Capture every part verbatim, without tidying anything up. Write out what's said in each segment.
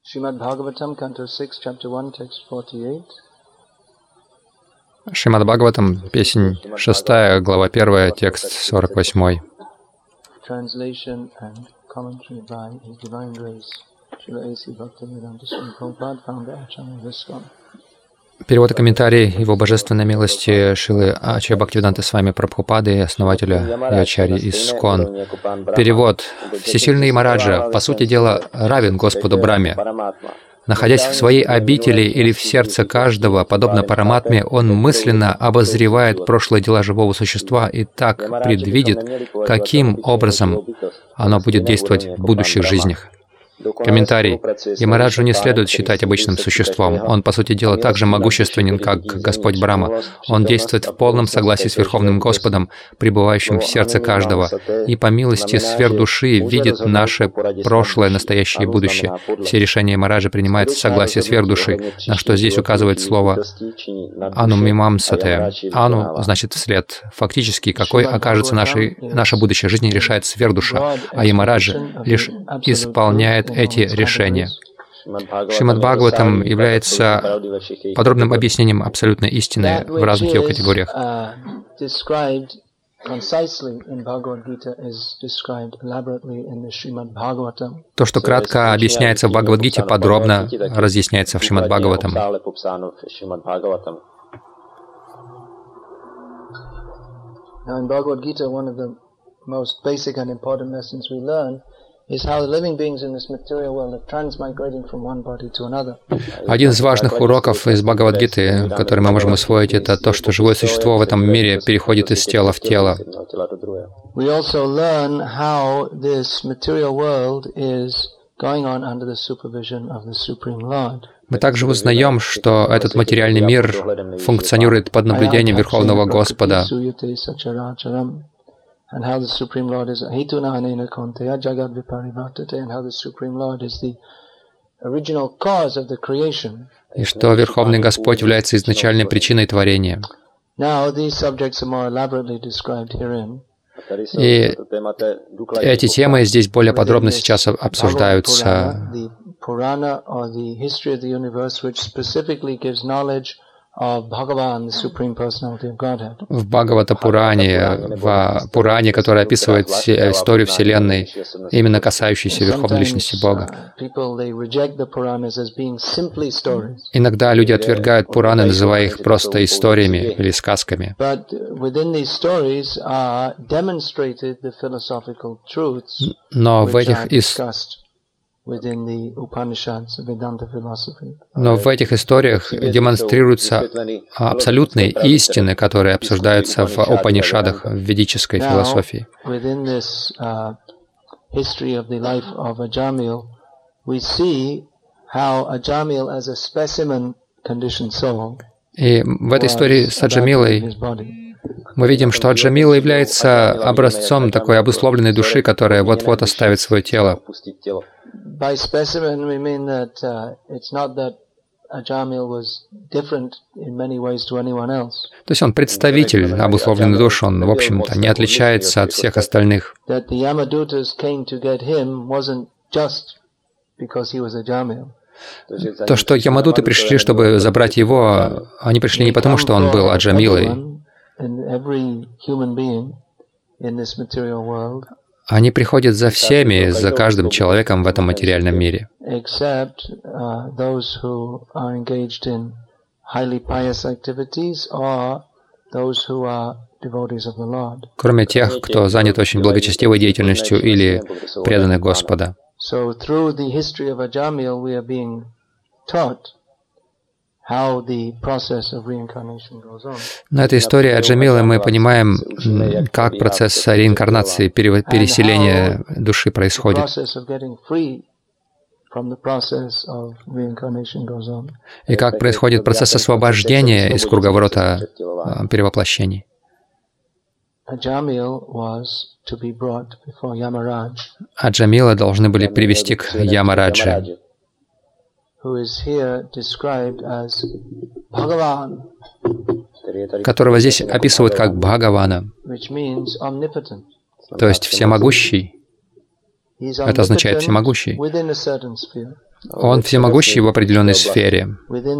Srimad Bhagavatam, Canto six, Chapter one, Text forty-eight. Шримад Бхагаватам, песнь шестая, глава первая, текст сорок восемь. Translation and commentary by His Divine Grace, Srila A C Bhaktivedanta Swami Prabhupada, founder Acharya ISKCON. Перевод и комментарий Его Божественной милости Шрилы Ачарья Бхактивиданты Свами Прабхупады, основателя и Ачарьи ИСККОН. Перевод. Всесильный Ямараджа, по сути дела, равен Господу Брахме. Находясь в своей обители или в сердце каждого, подобно Параматме, он мысленно обозревает прошлые дела живого существа и так предвидит, каким образом оно будет действовать в будущих жизнях. Комментарий. Ямараджу не следует считать обычным существом. Он, по сути дела, так же могущественен, как Господь Брахма. Он действует в полном согласии с Верховным Господом, пребывающим в сердце каждого, и по милости сверхдуши видит наше прошлое, настоящее и будущее. Все решения Ямараджа принимаются в согласии с сверхдуши, на что здесь указывает слово «анумимамсате». «Ану» значит «вслед». Фактически, какой окажется нашей, наша будущая жизнь, решает сверхдуша, а Ямараджа лишь исполняет эти решения. Шримад Бхагаватам является подробным объяснением абсолютной истины в разных ее категориях. То, что кратко объясняется в Бхагавад-гите, подробно разъясняется в Шримад Бхагаватам. Один из важных уроков из Бхагавад-гиты, который мы можем усвоить, это то, что живое существо в этом мире переходит из тела в тело. Мы также узнаем, что этот материальный мир функционирует под наблюдением Верховного Господа. And how the Supreme Lord is Hetuna Anena Konteya Jagad Viparivartate, and how the Supreme Lord is the original cause of the creation. И что Верховный Господь является изначальной причиной творения. Now these subjects are more elaborately described herein. И эти темы здесь более подробно сейчас обсуждаются. The Purana, or the history of the universe, which specifically gives knowledge в Бхагавата-пуране, в Пуране, который описывает историю Вселенной, именно касающуюся Верховной Личности Бога. Иногда люди отвергают Пураны, называя их просто историями или сказками. Но в этих историях Но в этих историях демонстрируются абсолютные истины, которые обсуждаются в Упанишадах, в ведической философии. И в этой истории с Аджамилой мы видим, что Аджамила является образцом такой обусловленной души, которая вот-вот оставит свое тело. By specimen, we mean that uh, it's not that Ajamil was different in many ways to anyone else. То есть он представитель обусловленной души, он, в общем-то, не отличается от всех остальных. That the Yamadutas came to get him wasn't just because he was Ajamil. То, что Ямадуты пришли, чтобы забрать его, они пришли не потому, что он был Аджамилой. Они приходят за всеми, за каждым человеком в этом материальном мире. Кроме тех, кто занят очень благочестивой деятельностью или преданы Господа. На этой истории Аджамилы мы понимаем, как процесс реинкарнации, переселения души происходит. И как происходит процесс освобождения из круговорота перевоплощений. Аджамилы должны были привести к Ямарадже, которого здесь описывают как Бхагавана, то есть всемогущий. Это означает всемогущий. Он всемогущий в определенной сфере.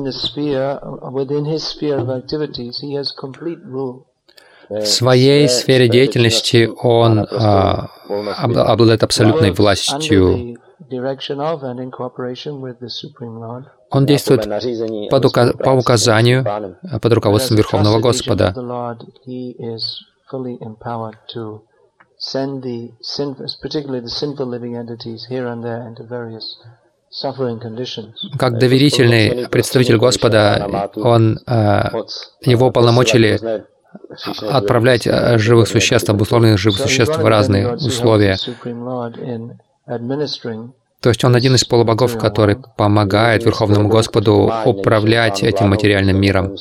В своей сфере деятельности он а, обладает абсолютной властью. Он действует под ука- по указанию, под руководством Верховного Господа. Как доверительный представитель Господа, он, его уполномочили отправлять живых существ, обусловленных живых существ в разные условия. То есть он один из полубогов, который помогает Верховному Господу управлять этим материальным миром.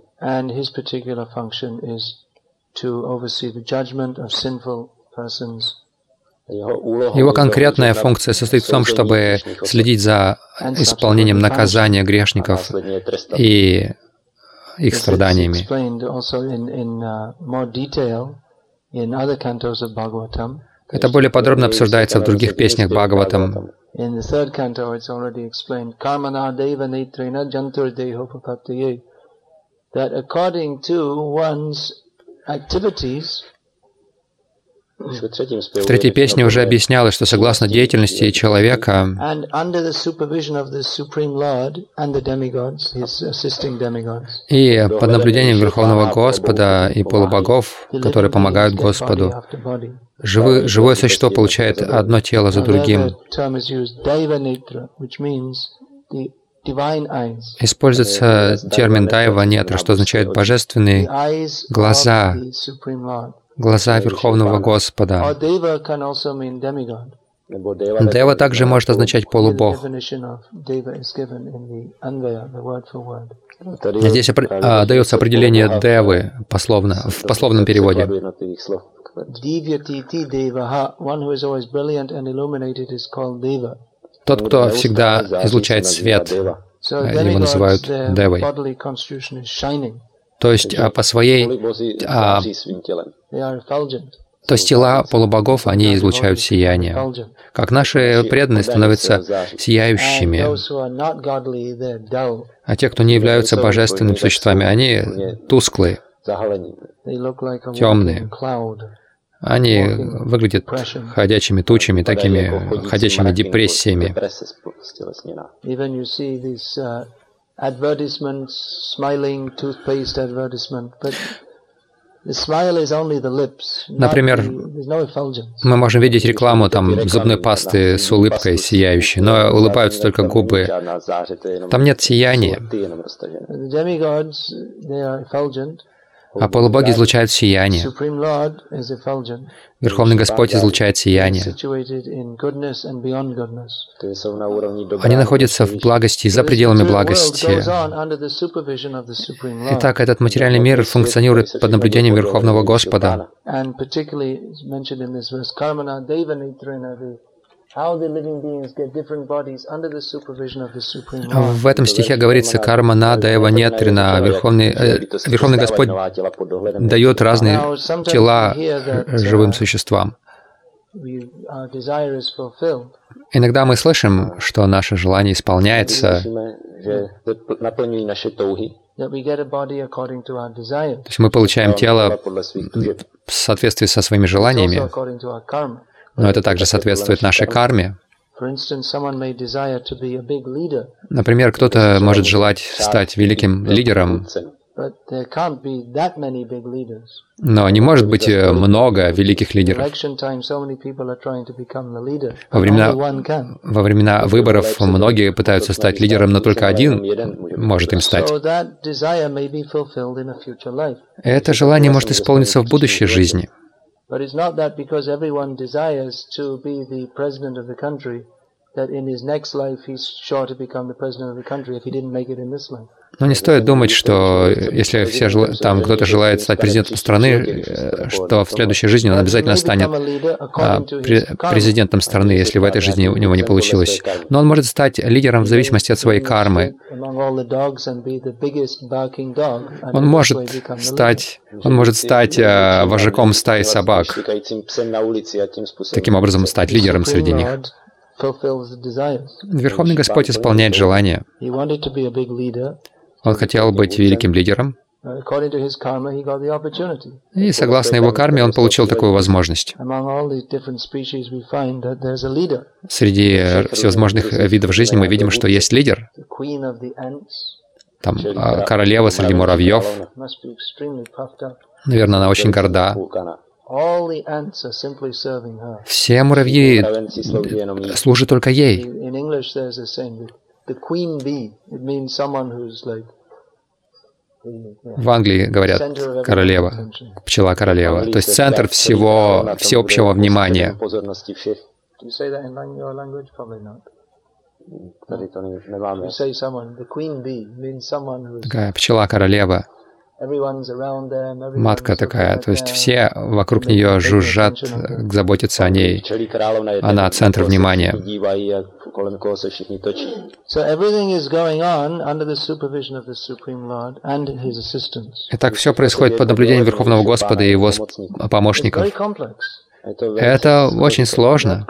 Его конкретная функция состоит в том, чтобы следить за исполнением наказания грешников и их страданиями. Это более подробно обсуждается в других песнях Бхагаватам. В третьей песне уже объяснялось, что согласно деятельности человека и под наблюдением Верховного Господа и полубогов, которые помогают Господу, живы, живое существо получает одно тело за другим. Используется термин «дайва нетра», что означает «божественные глаза», глаза Верховного Господа. Дева также может означать полубог. Здесь а, дается определение девы пословно, в пословном переводе. Тот, кто всегда излучает свет, его называют девой. То есть а, по своей... А, то есть тела полубогов, они излучают сияние. Как наши преданные становятся сияющими, а те, кто не являются божественными существами, они тусклые, темные. Они выглядят ходячими тучами, такими ходячими депрессиями. Например, мы можем видеть рекламу там зубной пасты с улыбкой сияющей, но улыбаются только губы. Там нет сияния. А полубоги излучают сияние. Верховный Господь излучает сияние. Они находятся в благости и за пределами благости. Итак, этот материальный мир функционирует под наблюдением Верховного Господа. В этом стихе говорится «карма на даева нетрина». Верховный, э, Верховный Господь дает разные тела живым существам. Иногда мы слышим, что наше желание исполняется, то есть мы получаем тело в соответствии со своими желаниями, но это также соответствует нашей карме. Например, кто-то может желать стать великим лидером, но не может быть много великих лидеров. Во времена, во времена выборов многие пытаются стать лидером, но только один может им стать. Это желание может исполниться в будущей жизни. But it's not that because everyone desires to be the president of the country, that in his next life he's sure to become the president of the country if he didn't make it in this life. Но не стоит думать, что если все жел... там кто-то желает стать президентом страны, что в следующей жизни он обязательно станет а, президентом страны, если в этой жизни у него не получилось. Но он может стать лидером в зависимости от своей кармы. Он может стать, он может стать а, вожаком стаи собак, таким образом стать лидером среди них. Верховный Господь исполняет желания. Он хотел быть великим лидером, и согласно его карме он получил такую возможность. Среди всевозможных видов жизни мы видим, что есть лидер. Там королева среди муравьев. Наверное, она очень горда. Все муравьи служат только ей. В Англии говорят королева, пчела-королева, то есть центр всего, всеобщего внимания. Такая пчела-королева, матка такая, то есть все вокруг нее жужжат, заботятся о ней. Она центр внимания. Итак, все происходит под наблюдением Верховного Господа и Его помощников. Это очень сложно.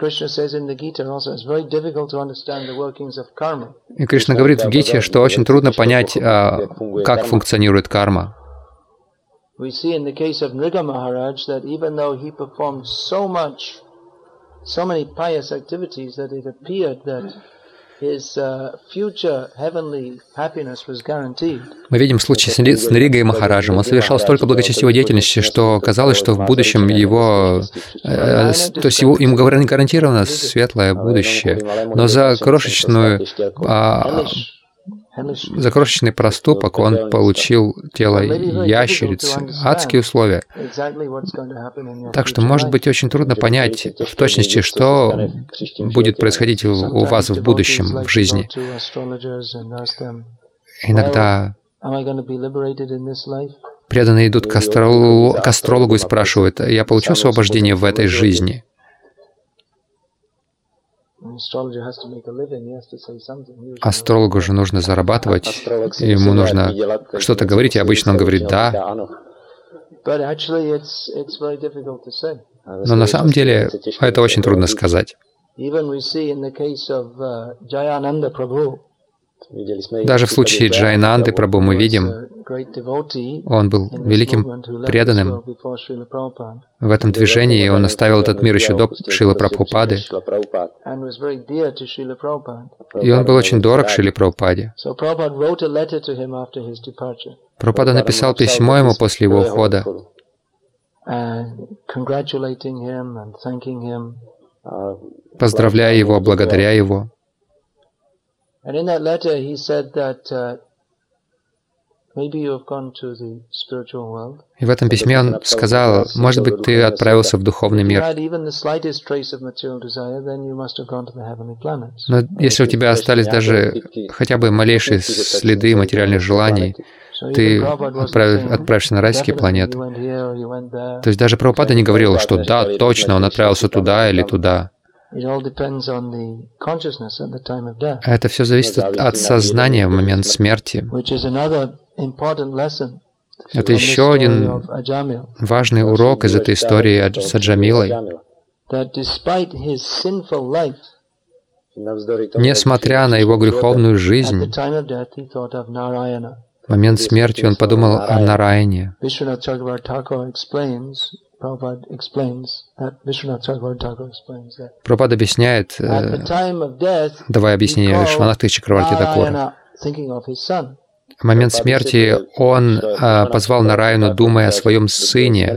И Кришна говорит в Гите, что очень трудно понять, как функционирует карма. We see in the case of Nriga Maharaj that even though he performed so much, so many pious activities that it appeared that his uh, future heavenly happiness was guaranteed. Мы видим случай с Нригой Махараджем. Он совершал столько благочестивой деятельности, что казалось, что в будущем его, э, то есть его, ему гарантировано светлое будущее. Но за крошечную а, За крошечный проступок он получил тело ящерицы, адские условия. Так что, может быть, очень трудно понять в точности, что будет происходить у вас в будущем, в жизни. Иногда преданные идут к астрологу, к астрологу и спрашивают: «Я получу освобождение в этой жизни?» Астрологу же нужно зарабатывать, ему нужно что-то говорить, и обычно он говорит «да». Но на самом деле это очень трудно сказать. Даже в случае Джайананды Прабху мы видим, он был великим преданным в этом движении, и он оставил этот мир еще до Шрилы Прабхупады, и он был очень дорог Шриле Прабхупаде. Прабхупада написал письмо ему после его ухода, поздравляя его, благодаря его. And in that letter, he said that uh, maybe you have gone to the spiritual world. И в этом письме он сказал: может быть, ты отправился в духовный мир. Но если у тебя остались даже хотя бы малейшие следы материальных желаний, ты отправ... отправишься на райские планеты. То есть даже Прабхупада не говорил, что да, точно, он отправился туда или туда. Это все зависит от, от сознания в момент смерти. Это еще один важный урок из этой истории с Аджамилой. Несмотря на его греховную жизнь, в момент смерти он подумал о Нараяне. Прабхупада объясняет, давая объяснение Вишванатхи Чакраварти Такура. В момент смерти он а, позвал Нараяну, думая о своем сыне.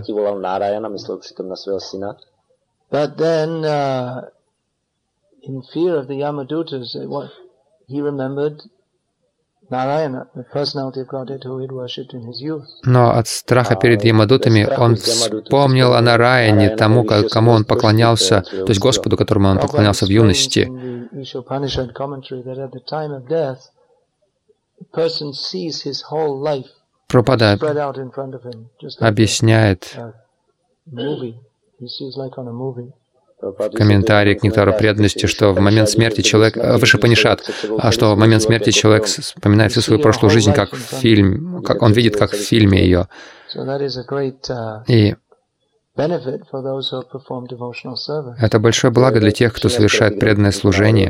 Но от страха перед Ямадутами он вспомнил о Нараяне, тому, кому он поклонялся, то есть Господу, которому он поклонялся в юности. Прабхупада объясняет комментарий к нектару преданности, что в момент смерти человек, выше Панишат, а что в момент смерти человек вспоминает всю свою прошлую жизнь как фильм, как он видит, как в фильме ее. И это большое благо для тех, кто совершает преданное служение.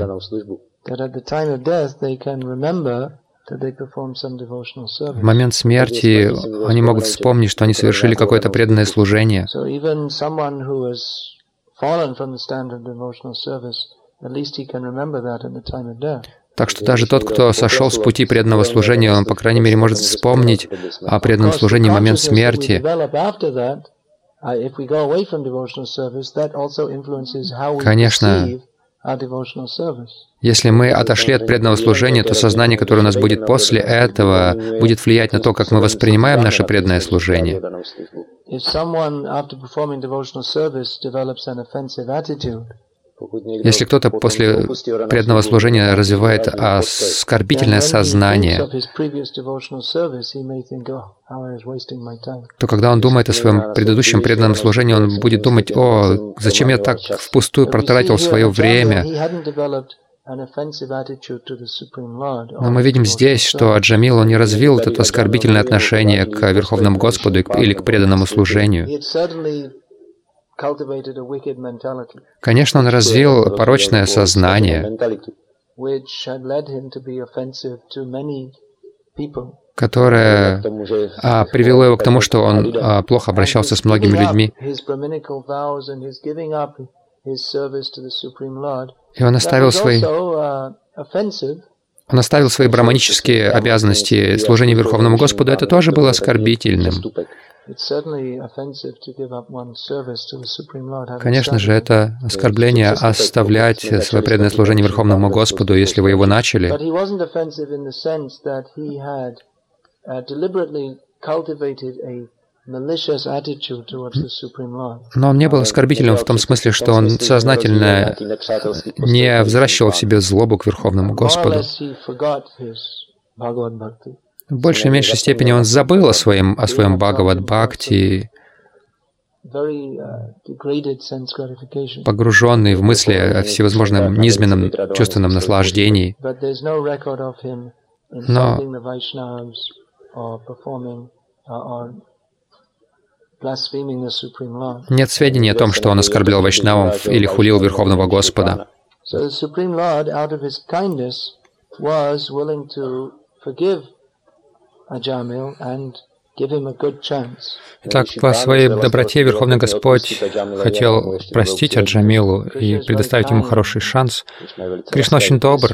В момент смерти они могут вспомнить, что они совершили какое-то преданное служение. Так что даже тот, кто сошел с пути преданного служения, он, по крайней мере, может вспомнить о преданном служении в момент смерти. Конечно, если мы отошли от преданного служения, то сознание, которое у нас будет после этого, будет влиять на то, как мы воспринимаем наше преданное служение. Если кто-то после преданного служения развивает оскорбительное сознание, то когда он думает о своем предыдущем преданном служении, он будет думать: «О, зачем я так впустую протратил свое время?» Но мы видим здесь, что Аджамил, он не развил это оскорбительное отношение к Верховному Господу или к преданному служению. Конечно, он развил порочное сознание, которое а, привело его к тому, что он а, плохо обращался с многими людьми. И он оставил свои, он оставил свои браманические обязанности служения Верховному Господу. Это тоже было оскорбительным. Конечно же, это оскорбление оставлять свое преданное служение Верховному Господу, если вы его начали. Но он не был оскорбительным в том смысле, что он сознательно не взращивал в себе злобу к Верховному Господу. В большей и меньшей степени он забыл о своем, о своем Бхагавад-бхакти, погруженный в мысли о всевозможном низменном чувственном наслаждении. Но нет сведений о том, что он оскорблял вайшнавов или хулил Верховного Господа. Так, по своей доброте Верховный Господь хотел простить Аджамилу и предоставить ему хороший шанс. Кришна очень добр.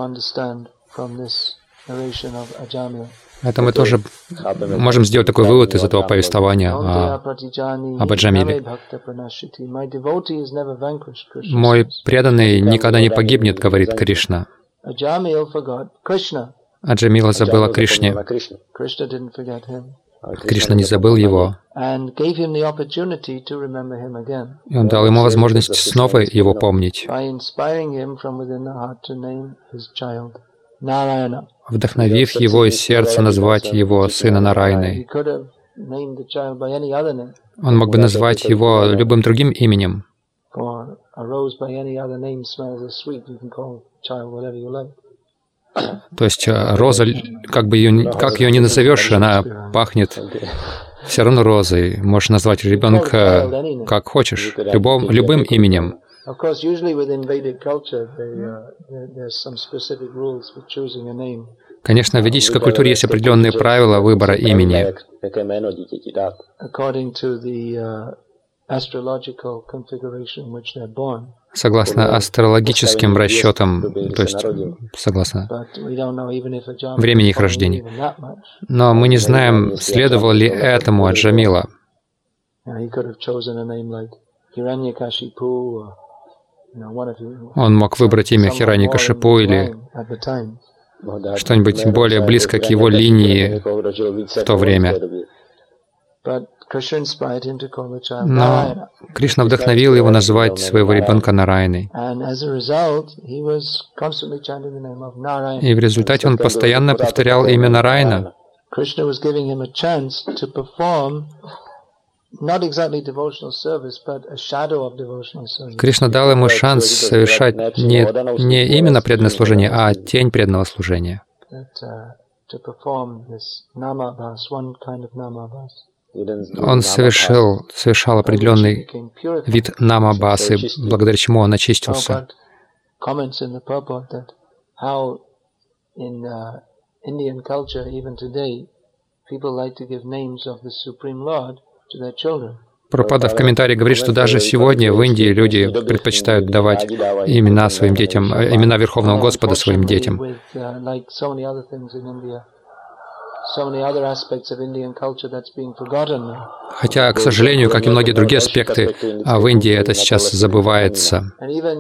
Это мы тоже можем сделать такой вывод из этого повествования о, об Аджамиле. «Мой преданный никогда не погибнет», — говорит Кришна. Аджамила забыл о Кришне. Кришна не забыл его. И он дал ему возможность снова его помнить, вдохновив его из сердца назвать его сына Нарайной. Он мог бы назвать его любым другим именем. То есть роза, как бы ее, как ее ни назовешь, она пахнет все равно розой. Можешь назвать ребенка как хочешь, любым, любым именем. Конечно, в ведической культуре есть определенные правила выбора имени. Согласно астрологическим расчетам, то есть согласно времени их рождения. Но мы не знаем, следовало ли этому Аджамила. Он мог выбрать имя Хираньякашипу или что-нибудь более близко к его линии в то время. Но Кришна вдохновил его назвать своего ребенка Нараяной. И в результате он постоянно повторял имя Нараяна. Кришна дал ему шанс совершать не, не именно преданное служение, а тень преданного служения. Он совершил, совершал определенный вид намабасы, благодаря чему он очистился. Прабхупада в комментарии говорит, что даже сегодня в Индии люди предпочитают давать имена своим детям, имена Верховного Господа своим детям. Хотя, к сожалению, как и многие другие аспекты, в Индии это сейчас забывается.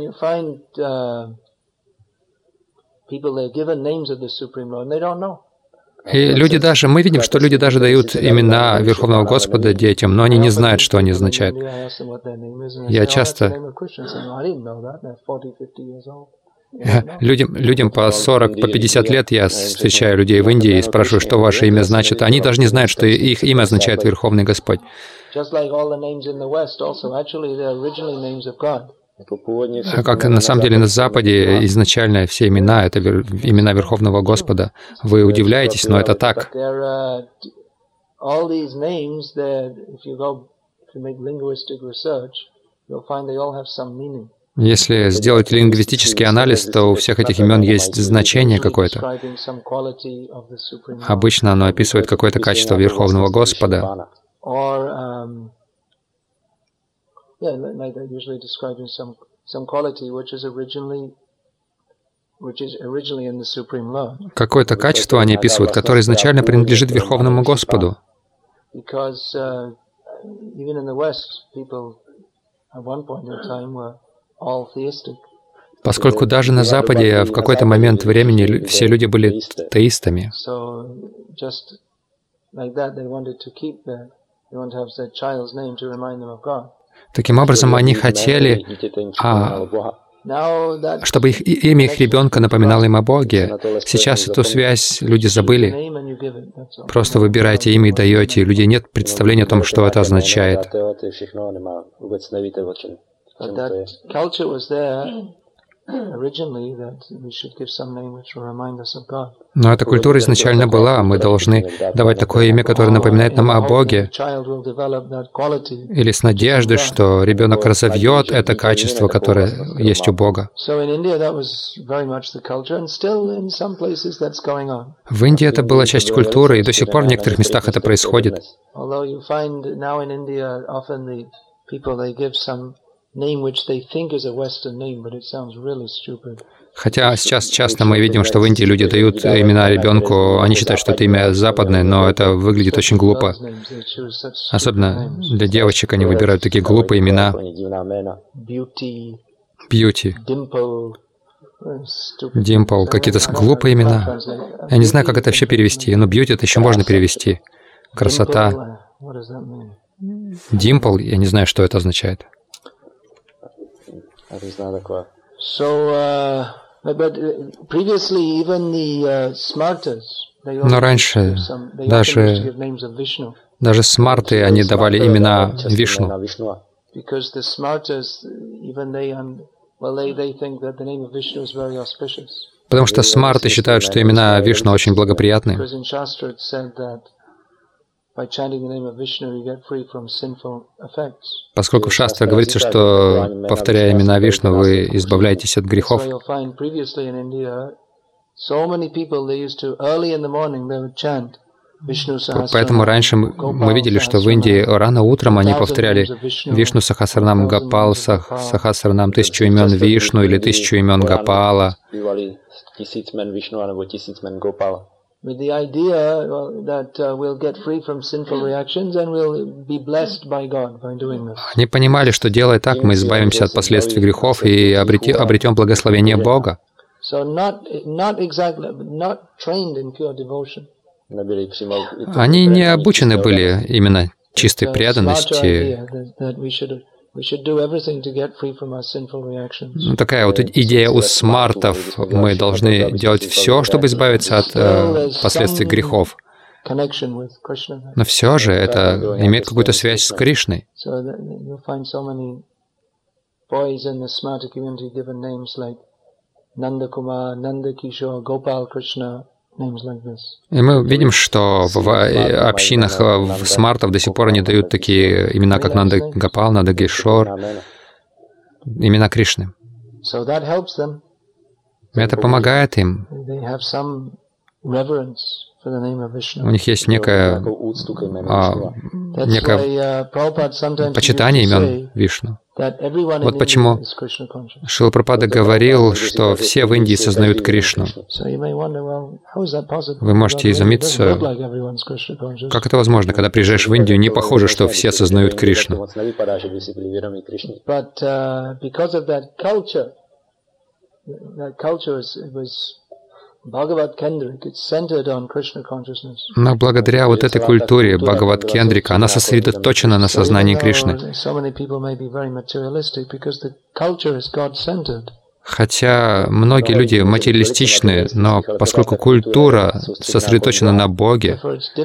И люди даже, мы видим, что люди даже дают имена Верховного Господа детям, но они не знают, что они означают. Я часто... Людям, людям по сорок, по пятьдесят лет я встречаю людей в Индии и спрашиваю, что ваше имя значит. Они даже не знают, что их имя означает Верховный Господь. Как на самом деле на Западе изначально все имена — это имена Верховного Господа. Вы удивляетесь, но это так. Если сделать лингвистический анализ, то у всех этих имен есть значение какое-то. Обычно оно описывает какое-то качество Верховного Господа. Какое-то качество они описывают, которое изначально принадлежит Верховному Господу. Поскольку даже на Западе в какой-то момент времени все люди были теистами. Таким образом, они хотели, а, чтобы их, имя их ребенка напоминало им о Боге. Сейчас эту связь люди забыли. Просто выбираете имя и даете, и у людей нет представления о том, что это означает. Но эта культура изначально была. Мы должны давать такое имя, которое напоминает нам о Боге. Или с надеждой, что ребенок разовьет это качество, которое есть у Бога. В Индии это была часть культуры, и до сих пор в некоторых местах это происходит. Хотя сейчас часто мы видим, что в Индии люди дают имена ребенку, они считают, что это имя западное, но это выглядит очень глупо. Особенно для девочек они выбирают такие глупые имена. Бьюти, Димпл, какие-то глупые имена. Я не знаю, как это вообще перевести, но бьюти это еще можно перевести. Красота. Димпл, я не знаю, что это означает. Но раньше даже, даже смарты, они давали имена Вишну. Потому что смарты считают, что имена Вишну очень благоприятны. Поскольку в Шастре говорится, что, повторяя имена Вишну, вы избавляетесь от грехов. Поэтому раньше мы видели, что в Индии рано утром они повторяли Вишну Сахасранам Гопал, Сахасранам тысячу имен Вишну или тысячу имен Гопала. Они понимали, что делая так, мы избавимся от последствий грехов и обретем благословение Бога. Они не обучены были именно чистой преданности. Ну, такая вот идея у смартов. Мы должны делать все, чтобы избавиться от э, последствий грехов. Но все же это имеет какую-то связь с Кришной. И мы видим, что в общинах в смартов до сих пор они дают такие имена, как Нанда Гопал, Нанда Кишор, имена Кришны. И это помогает им. У них есть некое, а, некое почитание имен Вишну. Вот почему Шрила Прабхупада говорил, что все в Индии сознают Кришну. Вы можете изумиться, как это возможно, когда приезжаешь в Индию, не похоже, что все сознают Кришну. Но благодаря вот этой культуре Бхагават-кендрика, она сосредоточена на сознании Кришны. Хотя многие люди материалистичны, но поскольку культура сосредоточена на Боге,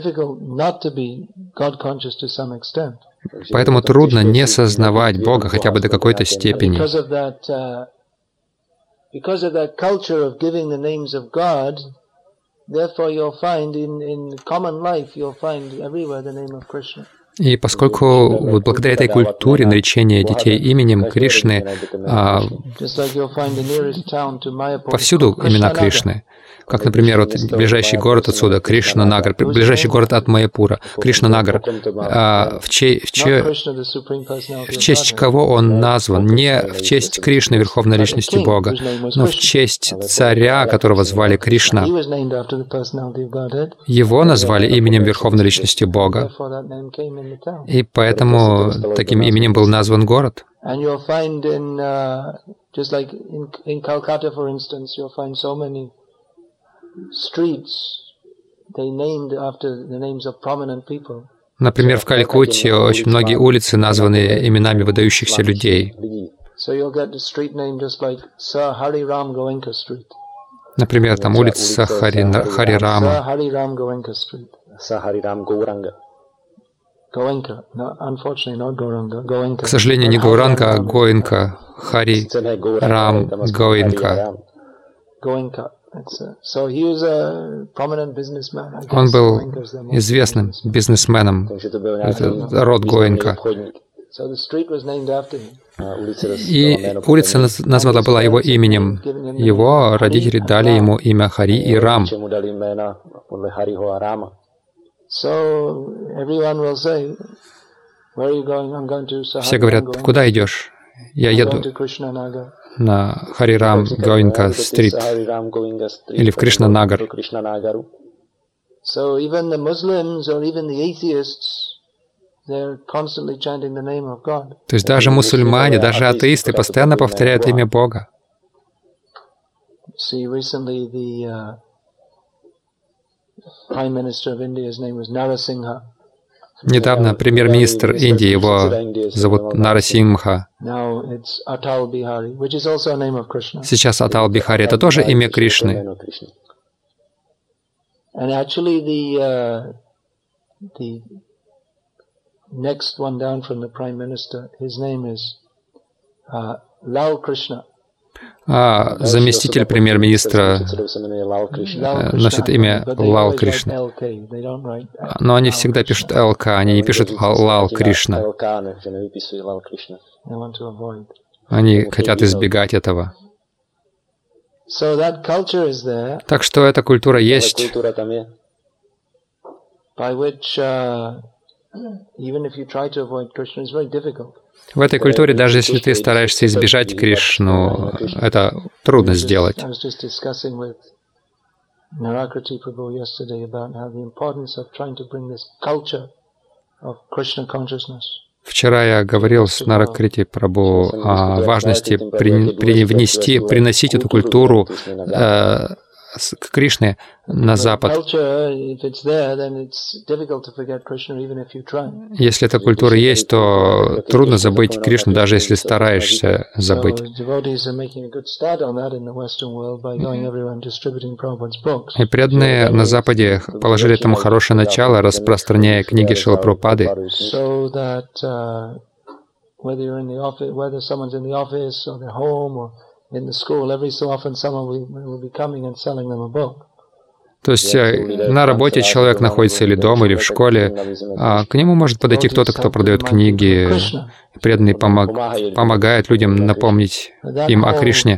поэтому трудно не сознавать Бога хотя бы до какой-то степени. Because of that culture of giving the names of God, therefore you'll find in, in common life, you'll find everywhere the name of Krishna. И поскольку вот благодаря этой культуре наречения детей именем Кришны, а, повсюду имена Кришны, как, например, вот ближайший город отсюда, Кришнанагар, ближайший город от Майяпура, Кришнанагар, а, в, чей, в, чей, в честь кого он назван? Не в честь Кришны, Верховной Личности Бога, но в честь царя, которого звали Кришна. Его назвали именем Верховной Личности Бога. И поэтому таким именем был назван город. Например, в Калькутте очень многие улицы названы именами выдающихся людей. Например, там улица Хари, Хари Рама. К сожалению, не Гауранга, а Гоинка. Хари Рам Гоинка. Он был известным бизнесменом, это род Гоинка. И улица названа была его именем. Его родители дали ему имя Хари и Рам. Все говорят, куда идешь? Я еду на Харирам Гоинка стрит или в Кришнанагар. То есть даже мусульмане, даже атеисты постоянно повторяют имя Бога. Недавно премьер-министр Индии, его зовут Нарасимха. Сейчас Атал Бихари — это тоже имя Кришны. А заместитель премьер-министра носит имя Лал Кришна. Но они всегда пишут ЛК, они не пишут Лал Кришна. Они хотят избегать этого. Так что эта культура есть, в этой культуре, даже если ты стараешься избежать Кришну, это трудно сделать. Вчера я говорил с Наракрити Прабху о важности при, при, внести, приносить эту культуру э, к Кришне на Запад. Если эта культура есть, то трудно забыть Кришну, даже если стараешься забыть. И преданные на Западе положили этому хорошее начало, распространяя книги Шрилы Прабхупады, то есть на работе человек находится или дома, или в школе, а к нему может подойти кто-то, кто продает книги, преданный помог, помогает людям напомнить им о Кришне.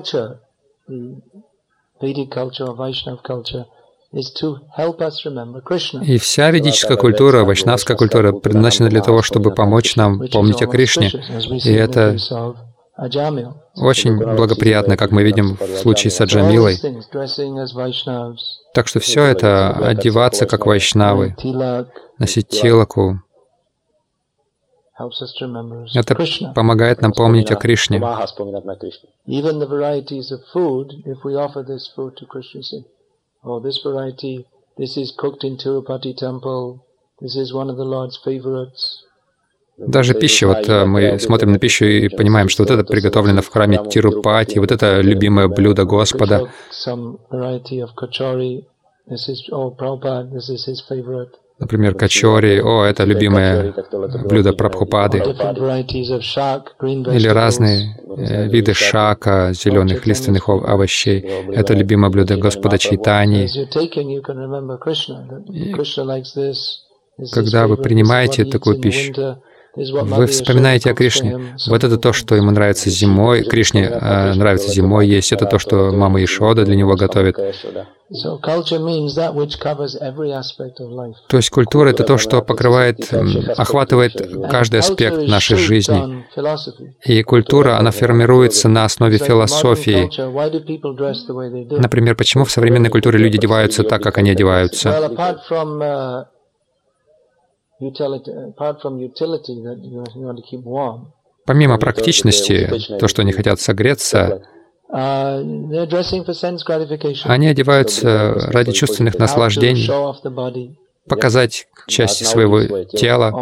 И вся ведическая культура, вайшнавская культура предназначена для того, чтобы помочь нам помнить о Кришне. И это очень благоприятно, как мы видим в случае с Аджамилой. Так что все это, одеваться как вайшнавы, носить тилаку, это помогает нам помнить о Кришне. Даже пища, вот мы смотрим на пищу и понимаем, что вот это приготовлено в храме Тирупати, вот это любимое блюдо Господа. Например, качори, о, это любимое блюдо Прабхупады. Или разные э, виды шака, зеленых лиственных овощей. Это любимое блюдо Господа Чайтаньи. Когда вы принимаете такую пищу, вы вспоминаете о Кришне. Вот это то, что ему нравится зимой. Кришне э, нравится зимой есть. Это то, что мама Ешода для него готовит. То есть культура — это то, что покрывает, охватывает каждый аспект нашей жизни. И культура, она формируется на основе философии. Например, почему в современной культуре люди одеваются так, как они одеваются? Помимо практичности, то, что они хотят согреться, они одеваются ради чувственных наслаждений, показать части своего тела.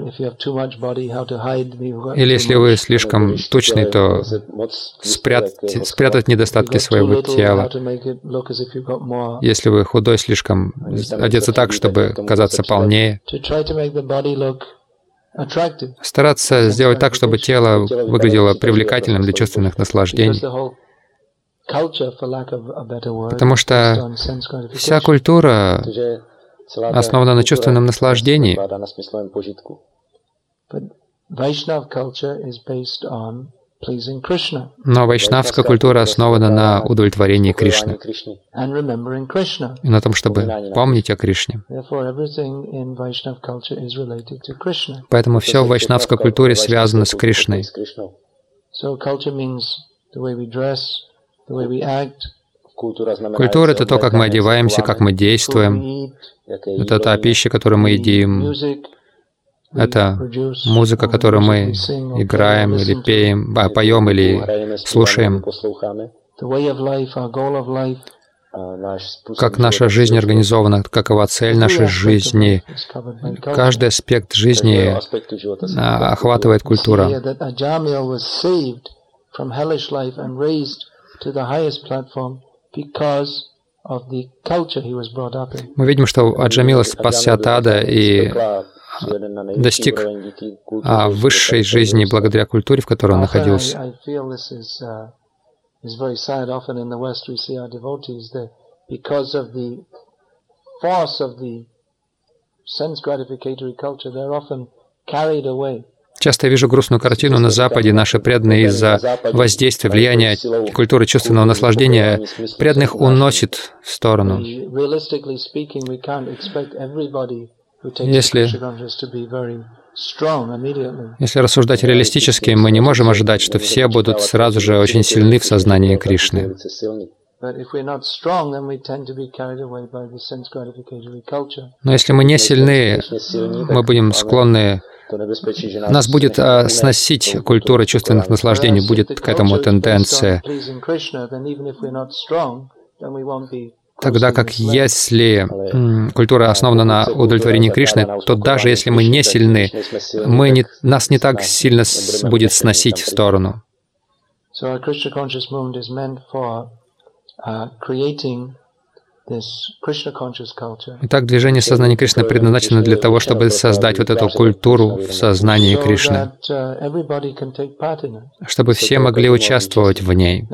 Или если вы слишком тучный, то спрятать, спрятать недостатки своего тела. Если вы худой, слишком одеться так, чтобы казаться полнее. Стараться сделать так, чтобы тело выглядело привлекательным для чувственных наслаждений. Потому что вся культура основана на чувственном наслаждении. Но вайшнавская культура основана на удовлетворении Кришны и на том, чтобы помнить о Кришне. Поэтому все в вайшнавской культуре связано с Кришной. Культура — это то, как мы одеваемся, как мы действуем. Это та пища, которую мы едим. Это музыка, которую мы играем или пеем, а, поем или слушаем. Как наша жизнь организована, какова цель нашей жизни. Каждый аспект жизни а, охватывает культура. Мы видим, что Аджамила спасся от ада и достиг а, высшей жизни благодаря культуре, в которой он находился. Часто я вижу грустную картину на Западе. Наши преданные из-за воздействия, влияния культуры чувственного наслаждения преданных уносит в сторону. Если, если рассуждать реалистически, мы не можем ожидать, что все будут сразу же очень сильны в сознании Кришны. Но если мы не сильны, мы будем склонны, нас будет а, сносить культура чувственных наслаждений, будет к этому тенденция. Тогда как если м, культура основана на удовлетворении Кришны, то даже если мы не сильны, мы не, нас не так сильно с, будет сносить в сторону. Итак, движение сознания Кришны предназначено для того, чтобы создать вот эту культуру в сознании Кришны, чтобы все могли участвовать в ней.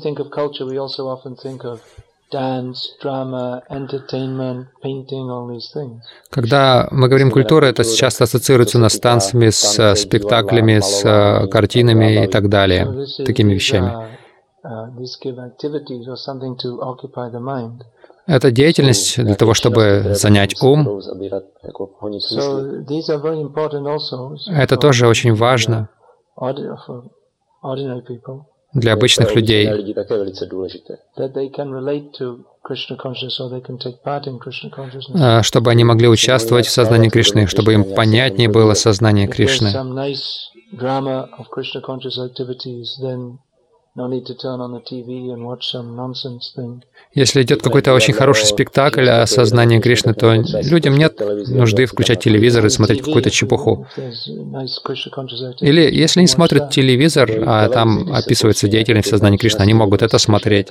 Когда мы говорим «культура», это часто ассоциируется у нас с танцами, с спектаклями, с картинами и так далее, такими вещами. Это деятельность для того, чтобы занять ум. Это тоже очень важно для обычных людей, чтобы они могли участвовать в сознании Кришны, чтобы им понятнее было сознание Кришны. Если идет какой-то очень хороший спектакль о сознании Кришны, то людям нет нужды включать телевизор и смотреть какую-то чепуху. Или если они смотрят телевизор, а там описывается деятельность сознания Кришны, они могут это смотреть.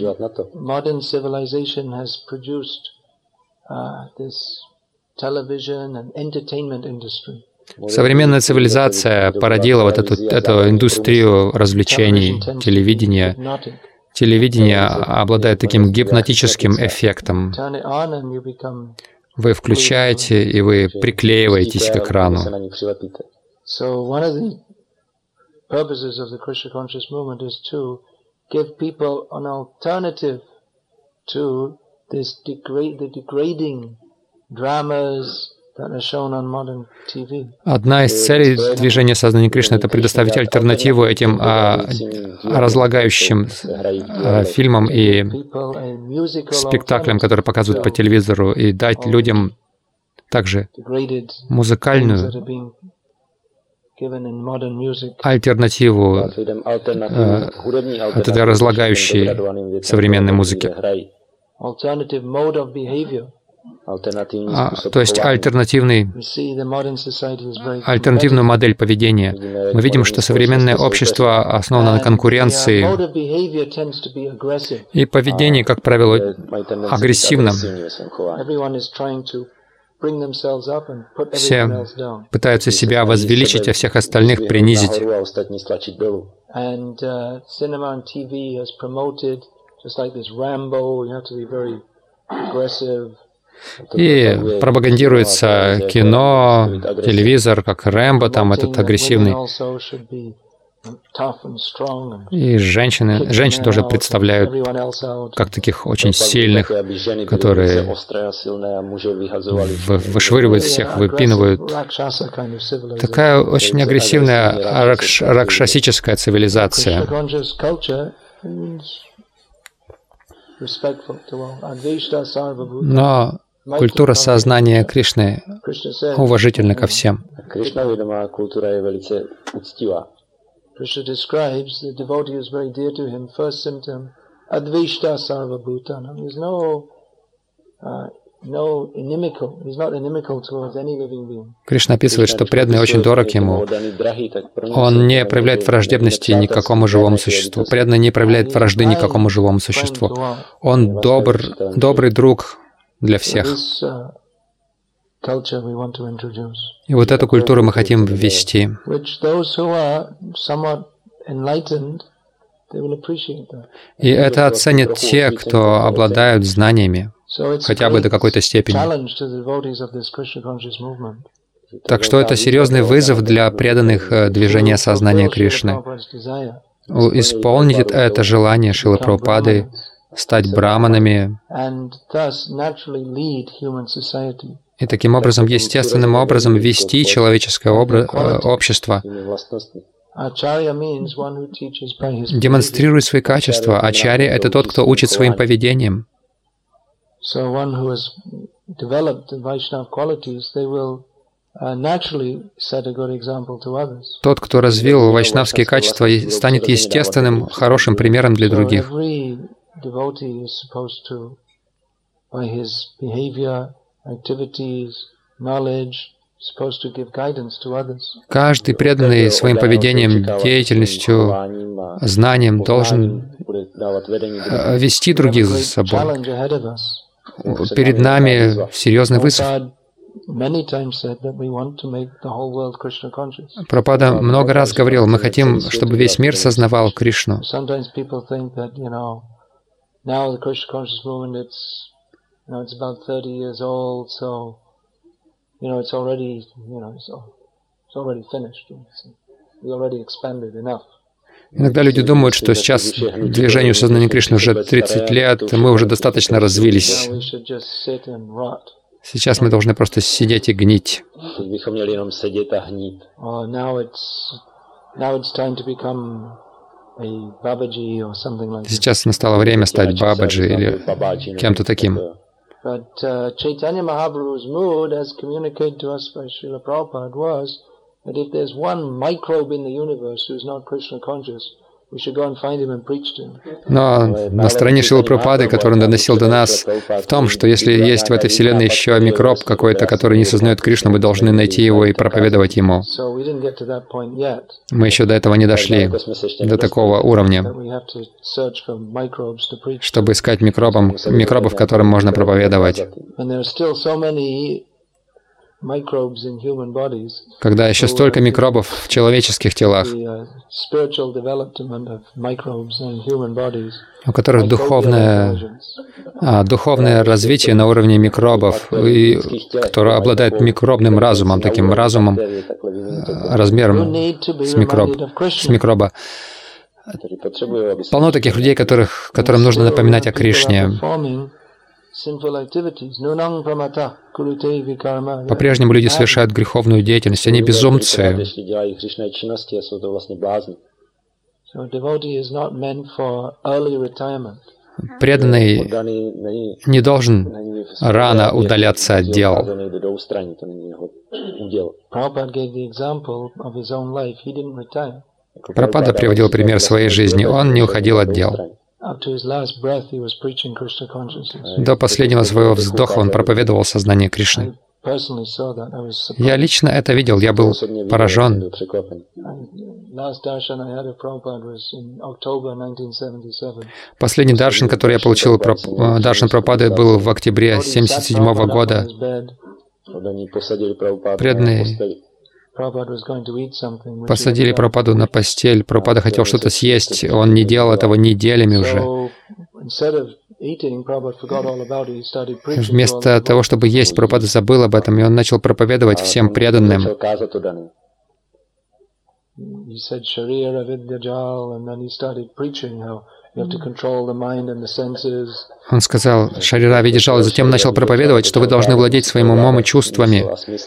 Современная цивилизация породила вот эту, эту индустрию развлечений, телевидения. Телевидение обладает таким гипнотическим эффектом. Вы включаете, и вы приклеиваетесь к экрану. Одна из целей движения сознания Кришны — это предоставить альтернативу этим а, разлагающим а, фильмам и спектаклям, которые показывают по телевизору, и дать людям также музыкальную альтернативу а, от этой разлагающей современной музыки. А, то есть альтернативный, альтернативную модель поведения. Мы видим, что современное общество основано на конкуренции, и поведение, как правило, агрессивно. Все пытаются себя возвеличить, а всех остальных принизить. И пропагандируется кино, телевизор, как Рэмбо, там этот агрессивный. И женщины, женщин тоже представляют как таких очень сильных, которые вышвыривают всех, выпинывают. Такая очень агрессивная ракш, ракшасическая цивилизация. Но культура сознания Кришны уважительна ко всем. Krishna describes the devotee is very dear to him. First symptom, advishta sarva bhutanam. He's no, uh, no inimical. He's not inimical towards any living being. Кришна описывает, что преданный очень дорог ему. Он не проявляет враждебности никакому живому существу. Преданный не проявляет вражды никакому живому существу. Он добр, добрый друг для всех. И вот эту культуру мы хотим ввести. И это оценят те, кто обладают знаниями, хотя бы до какой-то степени. Так что это серьезный вызов для преданных движения сознания Кришны. Исполнить это желание Шрилы Прабхупады, стать браманами, и таким образом, естественным образом, вести человеческое общество, демонстрирует свои качества. Ачарья — это тот, кто учит своим поведением. Тот, кто развил вайшнавские качества, станет естественным, хорошим примером для других. devotee is supposed to, by his behavior, activities, knowledge, supposed to give guidance to others. Каждый преданный своим поведением, деятельностью, знанием должен вести других за собой. Перед нами серьезный вызов. Прабхупада много раз говорил, мы хотим, чтобы весь мир сознавал Кришну. Иногда люди думают, что сейчас движению сознания Кришны уже тридцать лет, мы уже достаточно развились. Сейчас мы должны просто сидеть и гнить. Сейчас настало время стать Бабаджи или кем-то таким. But uh, Chaitanya Mahaprabhu's mood, as communicated to us by Srila Prabhupada, was that if there's one microbe in the universe who's not Krishna conscious, we should go and find him and preach to him. Но настроение Шрилы Прабхупады, которое он доносил до нас, в том, что если есть в этой вселенной еще микроб какой-то, который не сознает Кришну, мы должны найти его и проповедовать ему. Мы еще до этого не дошли, до такого уровня, чтобы искать микробом, микробов, которым можно проповедовать. Когда еще столько микробов в человеческих телах, у которых духовное, а, духовное развитие на уровне микробов, и, которые обладают микробным разумом, таким разумом, размером с, микроб, с микроба. Полно таких людей, которых, которым нужно напоминать о Кришне. По-прежнему люди совершают греховную деятельность, они безумцы. Преданный не должен рано удаляться от дел. Прабхупада приводил пример своей жизни. Он не уходил от дел. До последнего своего вздоха он проповедовал сознание Кришны. Я лично это видел, я был поражен. Последний даршан, который я получил, даршан Прабхупады, был в октябре семьдесят седьмого года. Преданные посадили Прабхупаду на постель. Прабхупада хотел что-то съесть, он не делал этого неделями уже. Вместо того, чтобы есть, Прабхупада забыл об этом, и он начал проповедовать всем преданным. Он сказал «Шарира Видиджал», и затем начал проповедовать, что вы должны владеть своим умом и чувствами.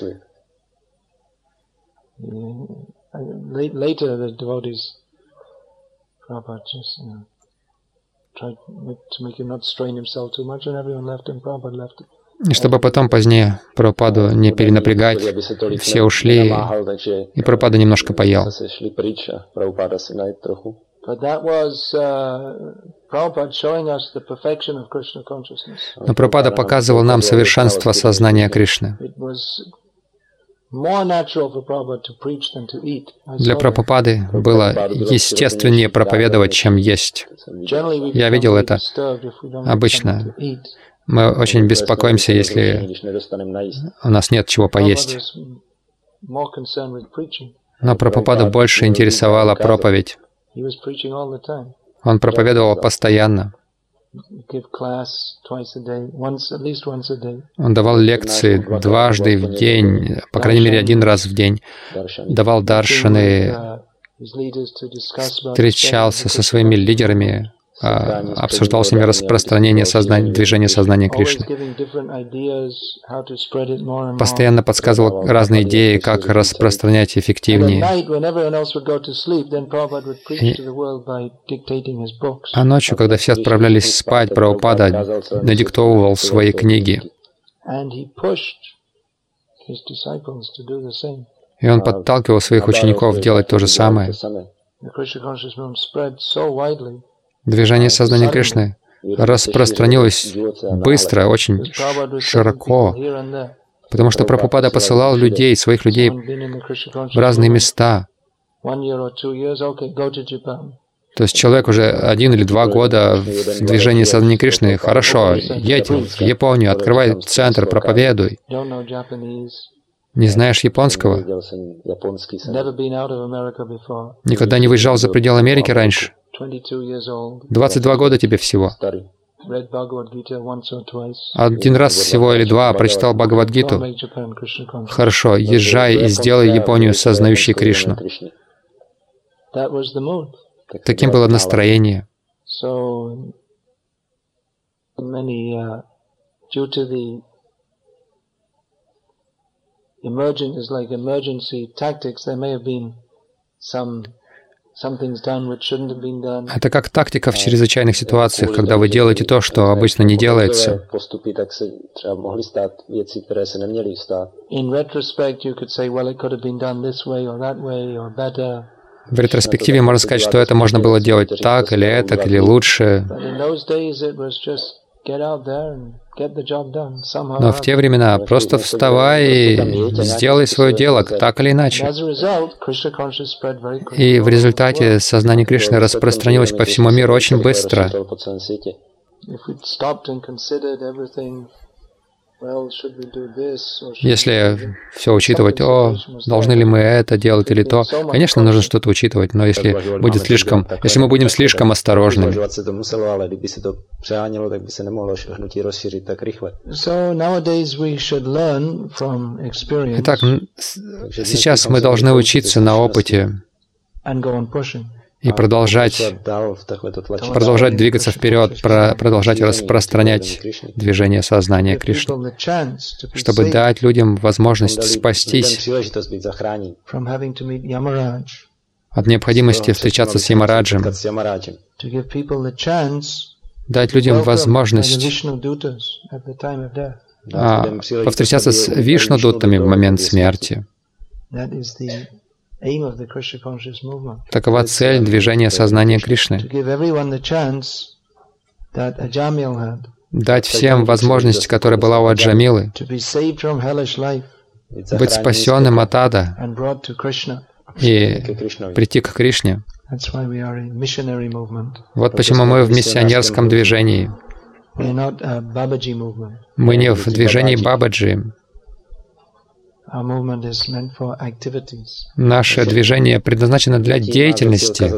Later, the devotees, Prabhupada just, you know, tried to make him not strain himself too much, and everyone left him. Prabhupada left. И чтобы потом позднее Прабхупаду не перенапрягать, все ушли, и Прабхупада немножко поел. Но Прабхупада показывал нам совершенство сознания Кришны. Для Прабхупады было естественнее проповедовать, чем есть. Я видел это. Обычно мы очень беспокоимся, если у нас нет чего поесть. Но Прабхупаду больше интересовала проповедь. Он проповедовал постоянно. Он давал лекции дважды в день, по крайней мере, один раз в день. Давал даршаны, встречался со своими лидерами, обсуждал с ними распространение сознания, движения сознания Кришны. Постоянно подсказывал разные идеи, как распространять эффективнее. И, а ночью, когда все отправлялись спать, Прабхупада надиктовывал свои книги. И он подталкивал своих учеников делать то же самое. Движение сознания Кришны распространилось быстро, очень широко, потому что Прабхупада посылал людей, своих людей в разные места. То есть человек уже один или два года в движении сознания Кришны. Хорошо, едь в Японию, открывай центр, проповедуй. Не знаешь японского? Никогда не выезжал за пределы Америки раньше? двадцать два года тебе всего. Один раз всего или два прочитал Бхагавад-гиту. Хорошо, езжай и сделай Японию сознающей Кришну. Таким было настроение. Это как тактика в чрезвычайных ситуациях, когда вы делаете то, что обычно не делается. В ретроспективе можно сказать, что это можно было делать так или этак, или лучше. Но в те времена просто вставай и сделай свое дело, так или иначе. И в результате сознание Кришны распространилось по всему миру очень быстро. Если все учитывать, о, должны ли мы это делать или то, конечно, нужно что-то учитывать, но если будет слишком, если мы будем слишком осторожными. Итак, сейчас мы должны учиться на опыте и продолжать, продолжать двигаться вперед, про, продолжать распространять движение сознания Кришны, чтобы дать людям возможность спастись от необходимости встречаться с Ямараджем, дать людям возможность а, повстречаться с Вишну-дуттами в момент смерти. Такова цель движения сознания Кришны. Дать всем возможность, которая была у Аджамилы, быть спасенным от ада и прийти к Кришне. Вот почему мы в миссионерском движении. Мы не в движении Бабаджи. Наше движение предназначено для деятельности.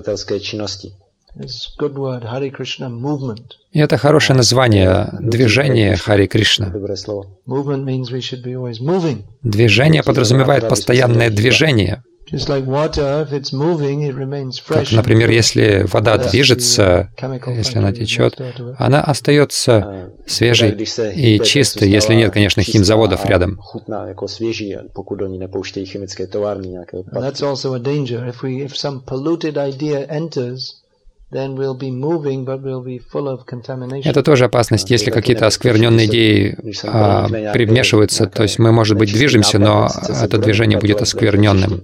И это хорошее название — движение Хари Кришна. Движение подразумевает постоянное движение. Как, например, если вода движется, если она течет, она остается свежей и чистой, если нет, конечно, химзаводов рядом. Это тоже опасность, если какие-то оскверненные идеи а, примешиваются, то есть мы, может быть, движемся, но это движение будет оскверненным,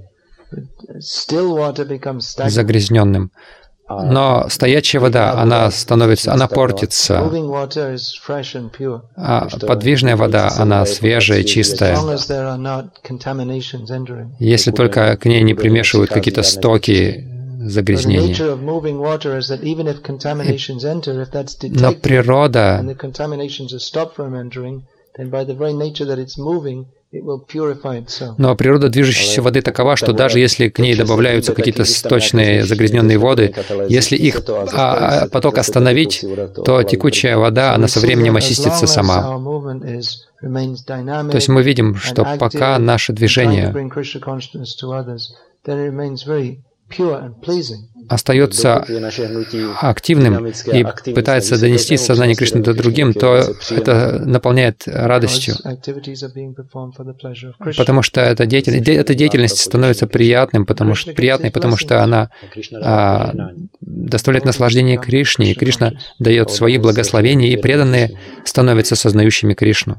загрязненным. Но стоячая вода, она становится, она портится, а подвижная вода, она свежая, чистая. Если только к ней не примешивают какие-то стоки загрязнения. Но природа Но природа движущейся воды такова, что даже если к ней добавляются какие-то сточные загрязненные воды, если их а, поток остановить, то текучая вода, она со временем очистится сама. То есть мы видим, что пока наше движение остается активным и пытается донести сознание Кришны до другим, то это наполняет радостью, потому что эта деятельность, эта деятельность становится приятным, потому что, приятной, потому что она а, доставляет наслаждение Кришне, и Кришна дает свои благословения, и преданные становятся сознающими Кришну.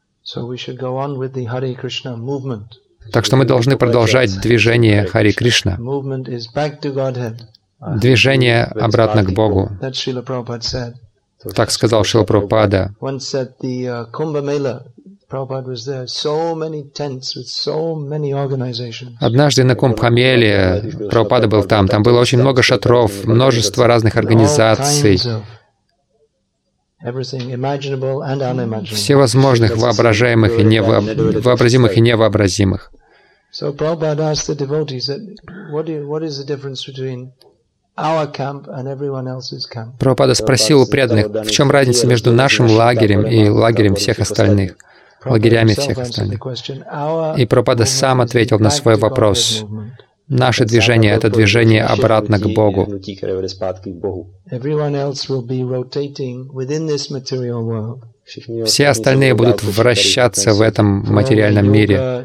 Так что мы должны продолжать движение Хари Кришна, движение обратно к Богу. Так сказал Шрила Прабхупада. Однажды на Кумбхамеле Прабхупада был там. Там было очень много шатров, множество разных организаций, всевозможных воображаемых и невообразимых и невообразимых. Прабхупада спросил у преданных, в чем разница между нашим лагерем и лагерем всех остальных, лагерями всех остальных. И Прабхупада сам ответил на свой вопрос. Наше движение — это движение обратно к Богу. Все остальные будут вращаться в этом материальном мире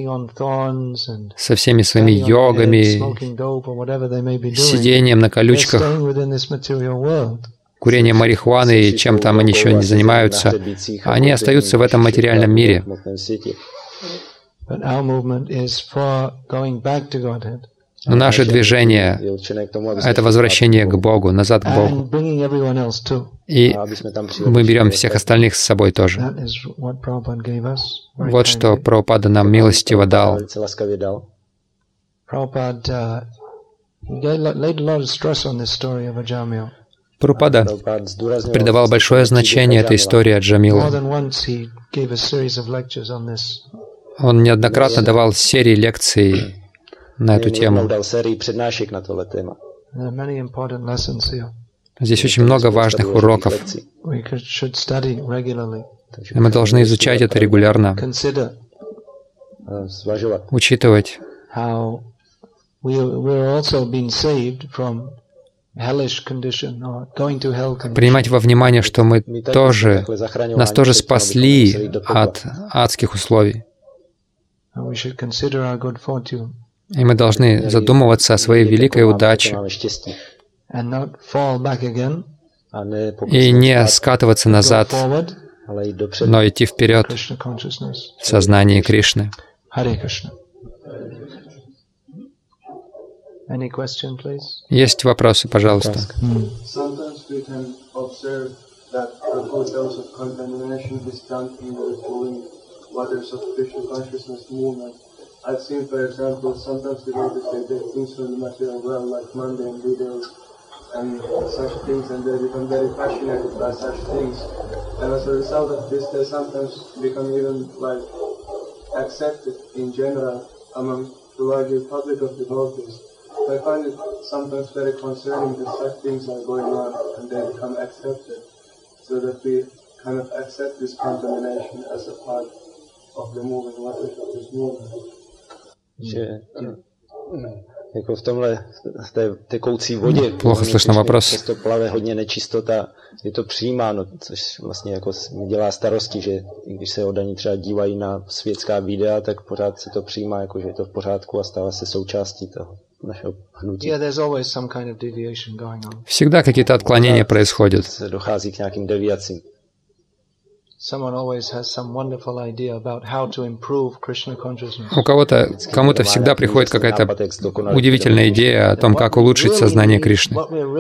со всеми своими йогами, сидением на колючках, курением марихуаны и чем там они еще не занимаются. Они остаются в этом материальном мире. Но наше движение — это возвращение к Богу, назад к Богу. И мы берем всех остальных с собой тоже. Вот что Прабхупада нам милостиво дал. Прабхупада придавал большое значение этой истории Аджамилы. Он неоднократно давал серии лекций на эту тему. Здесь очень много важных уроков. И мы должны изучать это регулярно, учитывать, принимать во внимание, что мы тоже, нас тоже спасли от адских условий. И мы должны задумываться о своей великой удаче и не скатываться назад, но идти вперед в сознании Кришны. Есть вопросы, пожалуйста. I've seen, for example, sometimes devotees they take things from the material realm like mundane videos and such things, and they become very fascinated by such things. And as a result of this, they sometimes become even like accepted in general among the larger public of devotees. So I find it sometimes very concerning that such things are going on and they become accepted, so that we kind of accept this contamination as a part of the moving waters of this movement. Že jako v tomhle, v té tekoucí vodě, плохо слышно вопрос. Často plave hodně nečistota, je to přijímáno, což vlastně jako mi dělá starosti, že když se oddaní třeba dívají na světská videa, tak pořád se to přijímá, jako že je to v pořádku a stává se součástí toho našeho hnutí. Всегда какие-то отклонения происходят. Dochází k nějakým deviacím. У кого-то, кому-то всегда приходит какая-то удивительная идея о том, как улучшить сознание Кришны.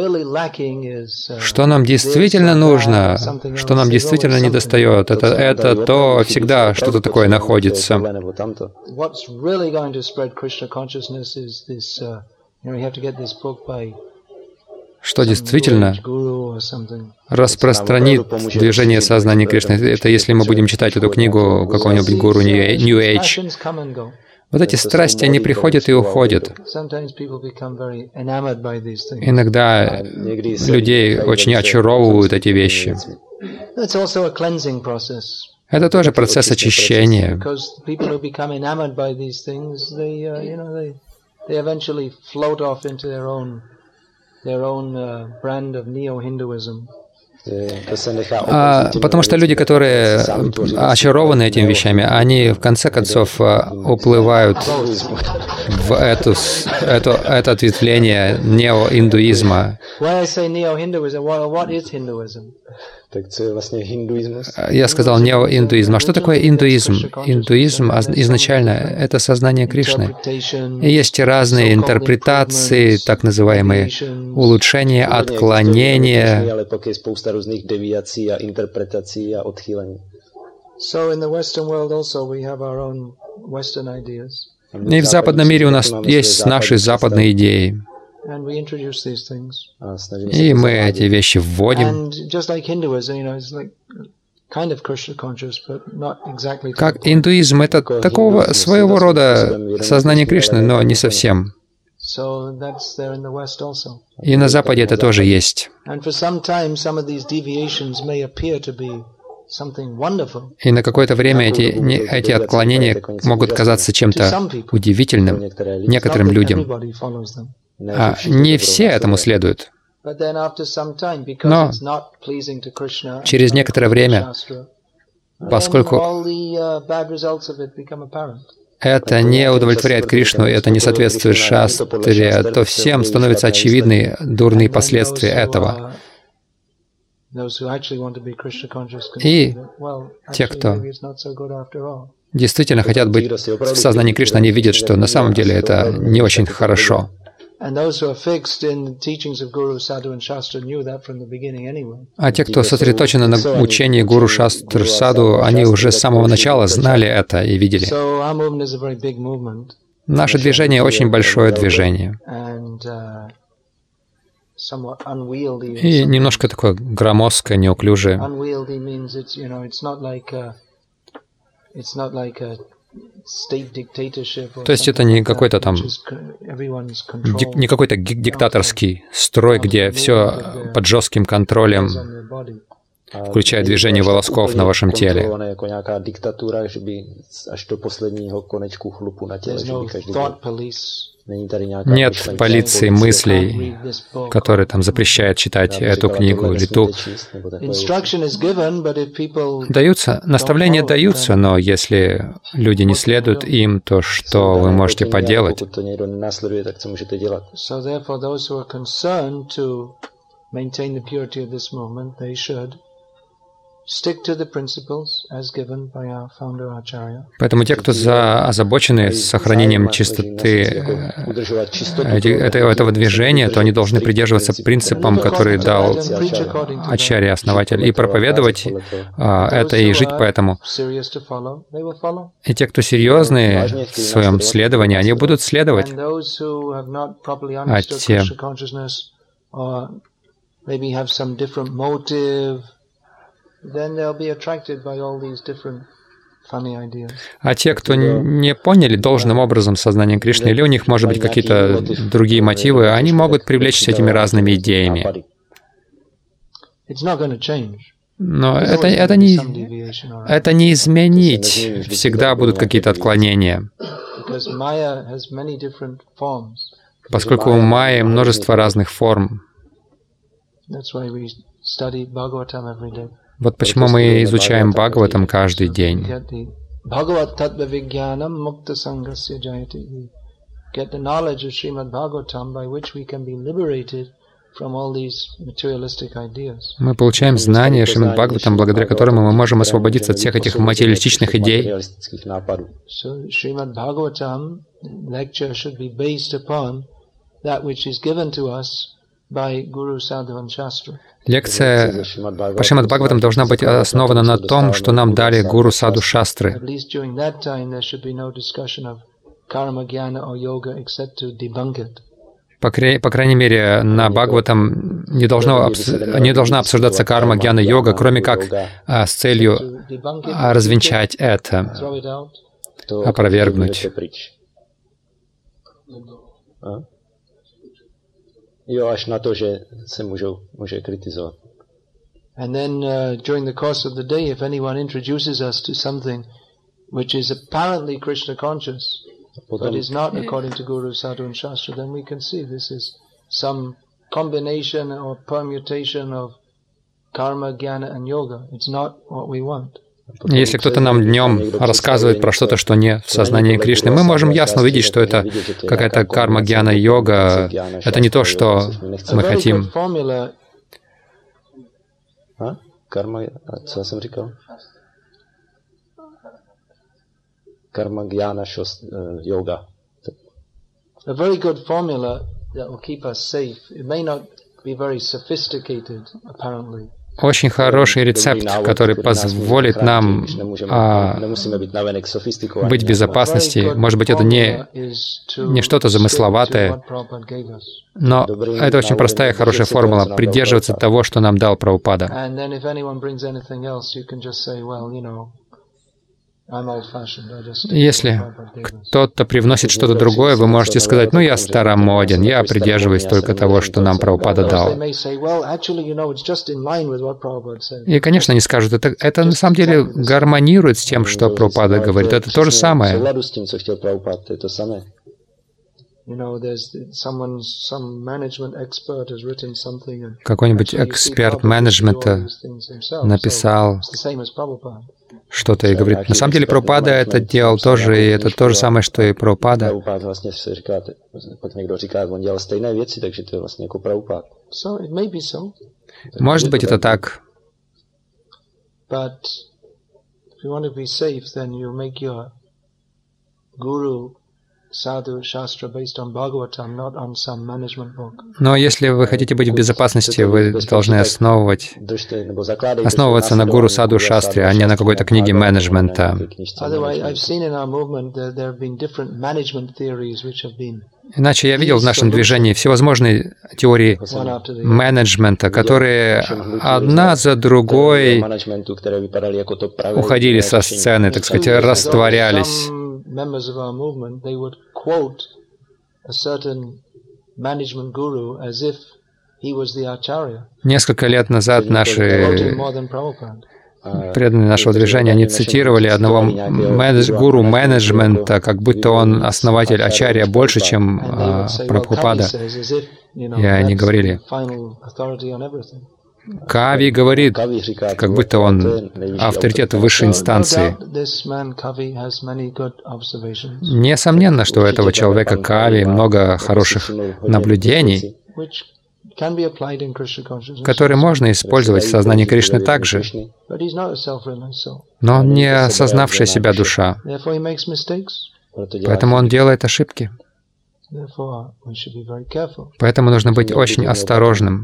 Что нам действительно нужно, что нам действительно недостает, это, это то всегда что-то такое находится. Что действительно распространит движение сознания Кришны. Это если мы будем читать эту книгу какого-нибудь гуру New Age. Вот эти страсти, они приходят и уходят. Иногда людей очень очаровывают эти вещи. Это тоже процесс очищения. А, потому что люди, которые очарованы этими вещами, они в конце концов уплывают в эту, эту, это ответвление неоиндуизма. Я сказал неоиндуизм. А что такое индуизм? Индуизм изначально — это сознание Кришны. И есть разные интерпретации, так называемые улучшения, отклонения. И в западном мире у нас есть наши западные идеи. И мы эти вещи вводим. Как индуизм — это такого своего рода сознание Кришны, но не совсем. И на Западе это тоже есть. И на какое-то время эти, эти отклонения могут казаться чем-то удивительным некоторым людям. А не все этому следуют. Но через некоторое время, поскольку это не удовлетворяет Кришну, это не соответствует шастре, то всем становятся очевидны дурные последствия этого. И те, кто действительно хотят быть в сознании Кришны, они видят, что на самом деле это не очень хорошо. А те, кто сосредоточены на учении Гуру Шастр Саду, они уже с самого начала знали это и видели. Наше движение очень большое движение. И немножко такое громоздкое, неуклюжее. То есть это не какой-то там, дик, не какой-то диктаторский строй, где все под жестким контролем, включая движение волосков на вашем теле. Нет полиции мыслей, которая там запрещает читать эту книгу или ту. Даются, наставления даются, но если люди не следуют им, то что вы можете поделать? Поэтому те, кто за, озабочены сохранением чистоты этого движения, то они должны придерживаться принципам, которые дал Ачарья, основатель, и проповедовать а, это и жить по этому. И те, кто серьезные в своем следовании, они будут следовать. А те, А те, кто не поняли должным образом сознание Кришны, или у них, может быть, какие-то другие мотивы, они могут привлечься этими разными идеями. Но это, это, не, это не изменить. Всегда будут какие-то отклонения. Поскольку у майи множество разных форм. Вот почему мы изучаем Бхагаватам каждый день. Мы получаем знания Шримад Бхагаватам, благодаря которому мы можем освободиться от всех этих материалистичных идей. Лекция по Шримад Бхагаватам должна быть основана на том, что нам дали Гуру Саду Шастры. По, по крайней мере, на Бхагаватам не, должно, не должна обсуждаться карма, гьяна, йога, кроме как а, с целью а, развенчать это, опровергнуть. Jo, až na to, že se můžou, může kritizovat. And then uh, during the course of the day, if anyone introduces us to something which is apparently Krishna conscious, but is not according to Guru, Sadhu and Shastra, then we can see this is some combination or permutation of karma, jnana and yoga. It's not what we want. Если кто-то нам днем рассказывает про что-то, что не в сознании Кришны, мы можем ясно увидеть, что это какая-то карма, гьяна, йога. Это не то, что мы хотим. Karma, co já jsem říkal? Karma Jnana Yoga. A very good formula that will keep us safe. It may not be very sophisticated, apparently. Очень хороший рецепт, который позволит нам а, быть в безопасности. Может быть, это не, не что-то замысловатое, но это очень простая, хорошая формула — придерживаться того, что нам дал Прабхупада. Если кто-то привносит что-то другое, вы можете сказать: ну, я старомоден, я придерживаюсь только того, что нам Прабхупада дал. И, конечно, они скажут, это, это на самом деле гармонирует с тем, что Прабхупада говорит. Это то же самое. Какой-нибудь эксперт менеджмента написал что-то и говорит: на самом деле Прабхупада это делал тоже, и это то же самое, что и Прабхупада. Может быть, это так. Но если вы хотите быть в безопасности, вы должны основывать, основываться на гуру саду шастре, а не на какой-то книге менеджмента. Иначе я видел в нашем движении всевозможные теории менеджмента, которые одна за другой уходили со сцены, так сказать, растворялись. Members of our movement, they would quote a certain management guru as if he was the acharya. Несколько лет назад наши преданные нашего движения, они цитировали одного менедж, гуру менеджмента, как будто он основатель ачарья больше, чем а, Прабхупада. И они говорили: Кави говорит, как будто он авторитет высшей инстанции. Несомненно, что у этого человека Кави много хороших наблюдений, которые можно использовать в сознании Кришны также. Но он не осознавшая себя душа. Поэтому он делает ошибки. Поэтому нужно быть очень осторожным.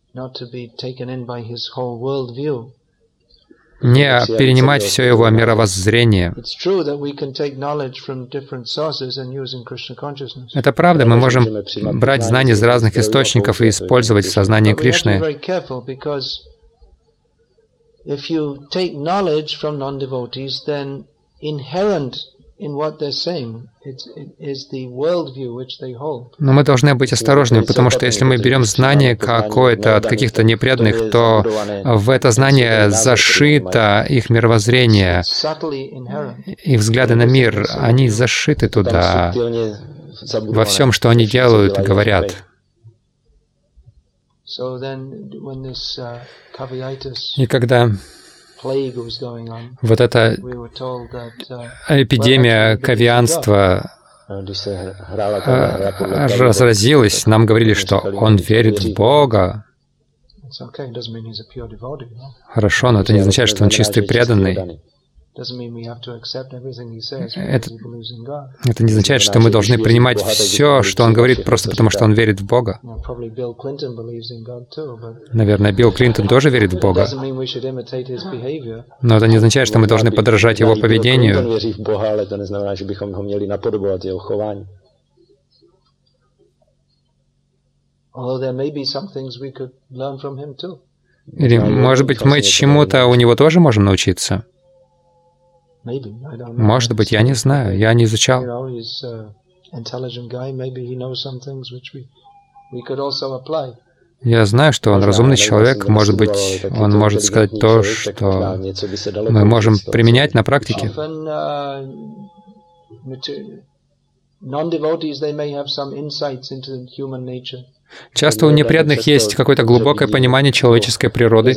Не перенимать все его мировоззрение. Это правда, мы можем брать знания из разных источников и использовать в сознании Кришны. Но мы должны быть осторожными, потому что если мы берем знание какое-то от каких-то непреданных, то в это знание зашито их мировоззрение, их взгляды на мир, они зашиты туда, во всем, что они делают и говорят. И когда вот эта эпидемия кавианства разразилась, нам говорили, что он верит в Бога. Хорошо, но это не означает, что он чистый преданный. Это, это не означает, что мы должны принимать все, что он говорит, просто потому что он верит в Бога. Наверное, Билл Клинтон тоже верит в Бога. Но это не означает, что мы должны подражать его поведению. Или, может быть, мы чему-то у него тоже можем научиться? Может быть, я не знаю, я не изучал. Я знаю, что он разумный человек, может быть, он может сказать то, что мы можем применять на практике. Часто у непреданных есть какое-то глубокое понимание человеческой природы.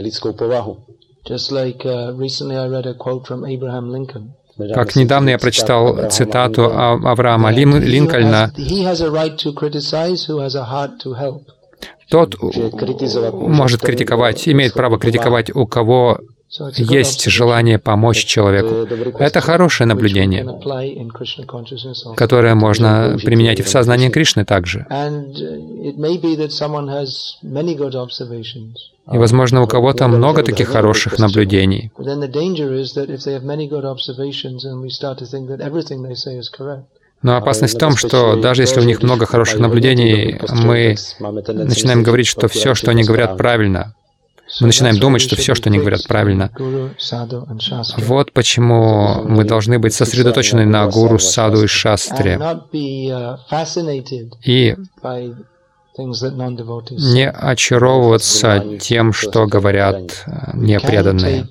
Как недавно я прочитал цитату Авраама Линкольна: тот может критиковать, имеет право критиковать, у кого есть желание помочь человеку. Это хорошее наблюдение, которое можно применять и в сознании Кришны также. И, возможно, у кого-то много таких хороших наблюдений. Но опасность в том, что даже если у них много хороших наблюдений, мы начинаем говорить, что все, что они говорят, правильно. Мы начинаем думать, что все, что они говорят, правильно. Вот почему мы должны быть сосредоточены на гуру, саду и шастре. И не очаровываться тем, что говорят непреданные.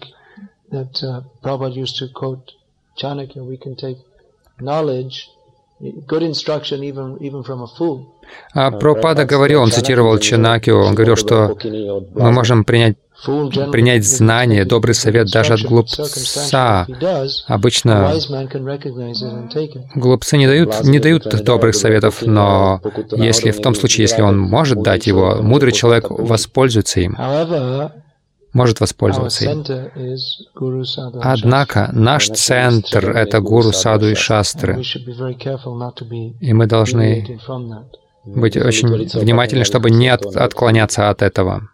А Прабхупада говорил, он цитировал Чанакью, он говорил, что мы можем принять, принять знание, добрый совет даже от глупца. Обычно глупцы не дают, не дают добрых советов, но если в том случае, если он может дать его, мудрый человек воспользуется им. Может воспользоваться им. Однако наш центр — это гуру, саду и шастры. И мы должны быть очень внимательны, чтобы не от, отклоняться от этого.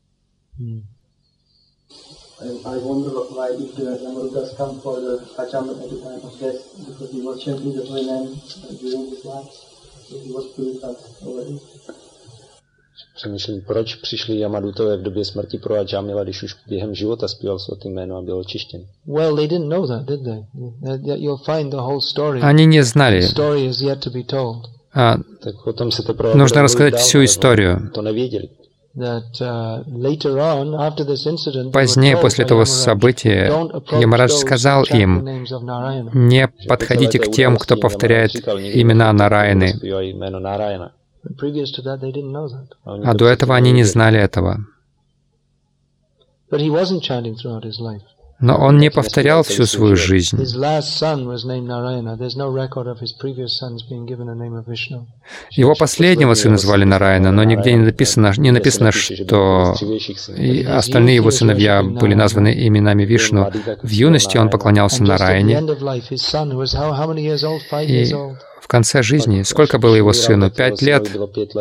Přemýšlím, proč přišli Yamadutové v době smrti pro Ajamila, když už během života zpíval svaté jméno a byl očištěn. Well, they didn't know that, did they? You'll find the whole story. Они не знали. The story is yet to be told. А, нужно рассказать всю историю. Позднее, после этого события, Ямарадж сказал им: «Не подходите к тем, кто повторяет имена Нараяны». А до этого они не знали этого. Но он не повторял всю свою жизнь. Его последнего сына звали Нараяна, но нигде не написано, не написано, что и остальные его сыновья были названы именами Вишну. В юности он поклонялся Нараяне. И в конце жизни, сколько было его сыну? Пять лет?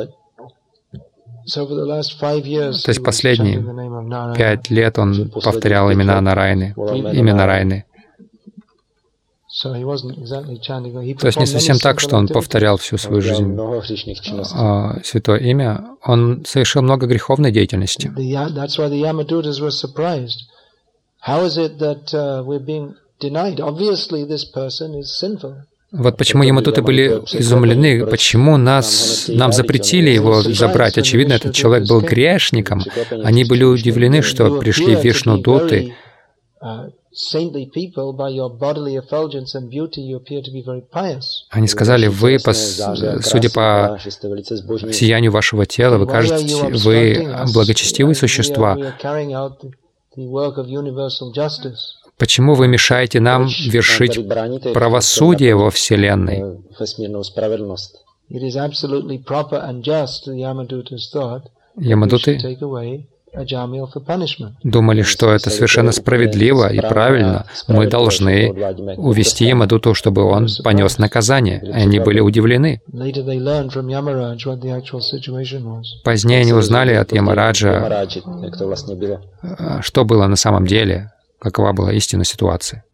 То есть последние пять лет он повторял имена Нараяны, имя Нараяны. То есть не совсем так, что он повторял всю свою жизнь а, святое имя. Он совершил много греховной деятельности. Вот почему ямадуты были изумлены, почему нас, нам запретили его забрать. Очевидно, этот человек был грешником. Они были удивлены, что пришли вишну-дуты. Они сказали: вы, судя по сиянию вашего тела, вы кажете, вы благочестивые существа. Почему вы мешаете нам вершить правосудие во Вселенной? Ямадуты думали, что это совершенно справедливо и правильно. Мы должны увести Ямадуту, чтобы он понес наказание. Они были удивлены. Позднее они узнали от Ямараджа, что было на самом деле, какова была истинная ситуация.